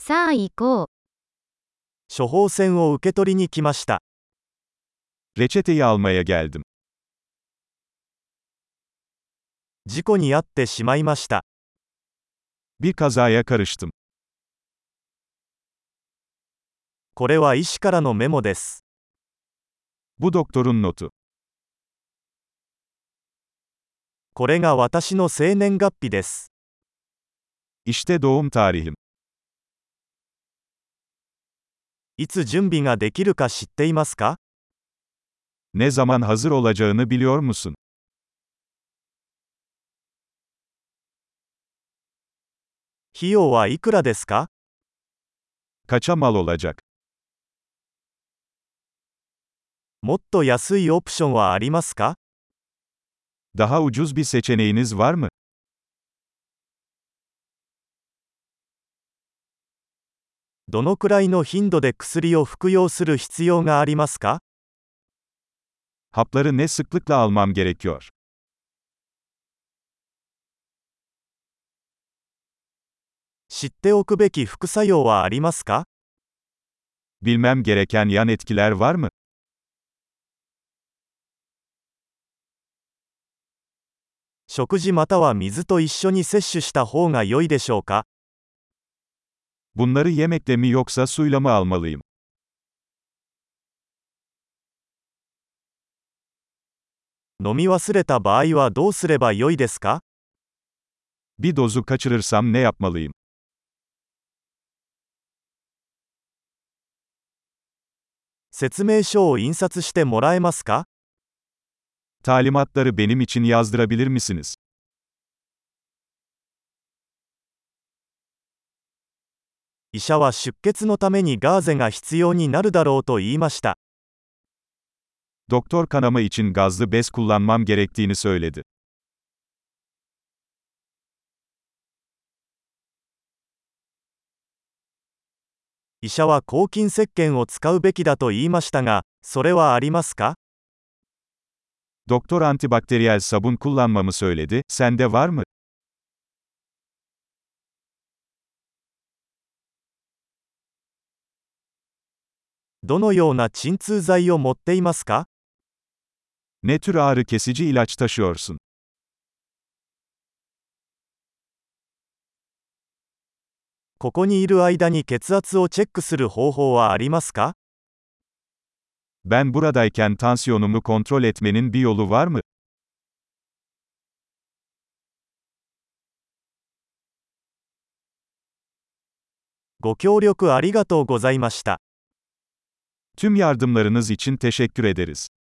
さあ行こう。 処方箋を受け取りに来ました。 Reçeteyi almaya geldim. 事故に遭ってしまいました。 Bir kazaya karıştım. これは医師からのメモです。 Bu doktorun notu. これが私の生年月日です。 İşte doğum tarihim. いつ準備ができるか知っていますか？ Ne zaman hazır olacağını biliyor musun? 費用はいくらですか？ Kaça mal olacak? もっと安いオプションはありますか？ Daha ucuz bir seçeneğiniz var mı? どのくらいの頻度で薬を服用する必要がありますか？ Hapları ne sıklıkla almam gerekiyor? 知っておくべき副作用はありますか？ Bilmem gereken yan etkiler var mı? 食事または水と一緒に摂取した方が良いでしょうか？ Bunları yemekle mi yoksa suyla mı almalıyım? 飲み忘れた場合はどうすれば良いですか？ Bir dozu kaçırırsam ne yapmalıyım? 説明書を印刷してもらえますか？ Talimatları benim için yazdırabilir misiniz? 医者は出血のためにガーゼが必要になるだろうと言いました。 Doktor kanama için gazlı bez kullanmam gerektiğini söyledi. 医者は抗菌石鹸を使うべきだと言いましたが、それはありますか？ Doktor antibakteriyel sabun kullanmamı söyledi, sende var mı? どのような鎮痛剤を持っていますか？ Ne tür ağrı kesici ilaç taşıyorsun? ここにいる間に血圧をチェックする方法はありますか？ Ben buradayken tansiyonumu kontrol etmenin bir yolu var mı? ご協力ありがとうございました。 Tüm yardımlarınız için teşekkür ederiz.